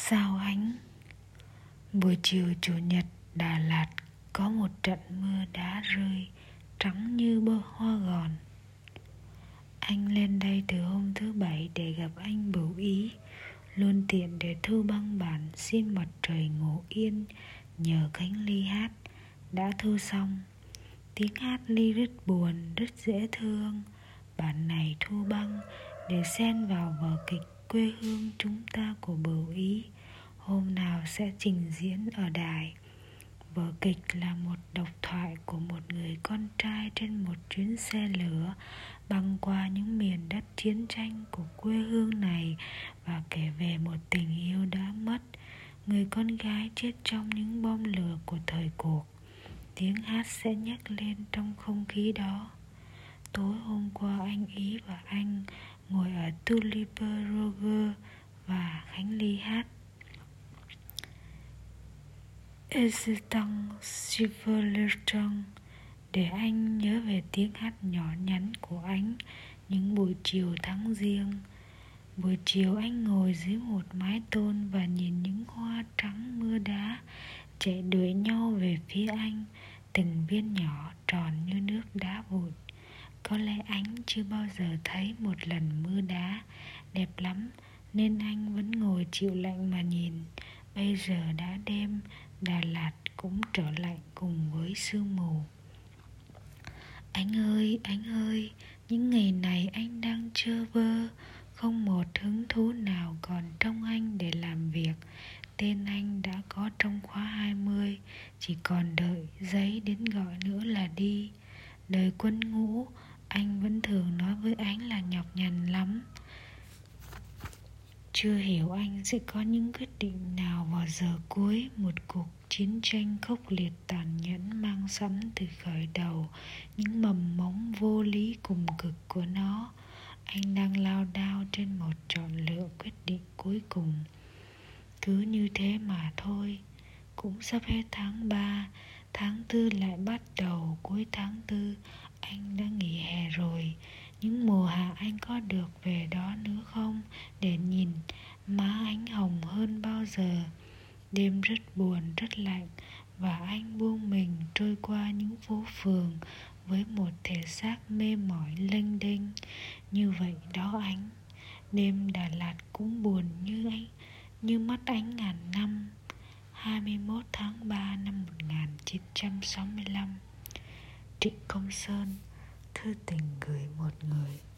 Sao Ánh. Buổi chiều Chủ nhật, Đà Lạt có một trận mưa đá rơi trắng như bông hoa gòn. Anh lên đây từ hôm thứ Bảy để gặp anh Bửu Ý, luôn tiện để thu băng bản Xin Mặt Trời Ngủ Yên nhờ Khánh Ly hát. Đã thu xong. Tiếng hát Ly rất buồn, rất dễ thương. Bản này thu băng để xen vào vở kịch Quê Hương Chúng Ta của Bửu Ý, hôm nào sẽ trình diễn ở đài. Vở kịch là một độc thoại của một người con trai trên một chuyến xe lửa băng qua những miền đất chiến tranh của quê hương này và kể về một tình yêu đã mất, người con gái chết trong những bom lửa của thời cuộc. Tiếng hát sẽ nhắc lên trong không khí đó. Tối hôm qua anh Ý và anh ngồi ở Tuliper Roger và Khánh Ly hát Existence Civilization để anh nhớ về tiếng hát nhỏ nhắn của anh những buổi chiều tháng Giêng. Buổi chiều anh ngồi dưới một mái tôn và nhìn những hoa trắng mưa đá chạy đuổi nhau về phía anh, từng viên nhỏ tròn như nước đá vụn. Có lẽ anh chưa bao giờ thấy một lần mưa đá đẹp lắm nên anh vẫn ngồi chịu lạnh mà nhìn. Bây giờ đã đêm, Đà Lạt cũng trở lạnh cùng với sương mù. Anh ơi, những ngày này anh đang trơ vơ, không một hứng thú nào còn trong anh để làm việc. Tên anh đã có trong khóa 20, chỉ còn đợi giấy đến gọi nữa là đi. Đời quân ngũ, anh vẫn thường nói với anh là nhọc nhằn lắm. Chưa hiểu anh sẽ có những quyết định nào vào giờ cuối một cuộc chiến tranh khốc liệt tàn nhẫn mang sẵn từ khởi đầu những mầm mống vô lý cùng cực của nó. Anh đang lao đao trên một chọn lựa quyết định cuối cùng. Cứ như thế mà thôi. Cũng sắp hết tháng 3, tháng 4 lại bắt đầu. Cuối tháng 4 anh đã nghỉ hè rồi. Những mùa hạ anh có được về đó nữa không, để nhìn má anh hồng hơn bao giờ. Đêm rất buồn, rất lạnh, và anh buông mình trôi qua những phố phường với một thể xác mê mỏi lênh đênh. Như vậy đó anh. Đêm Đà Lạt cũng buồn như anh, như mắt anh ngàn năm. 21 tháng 3 năm 1965. Trịnh Công Sơn. Thư tình gửi một người.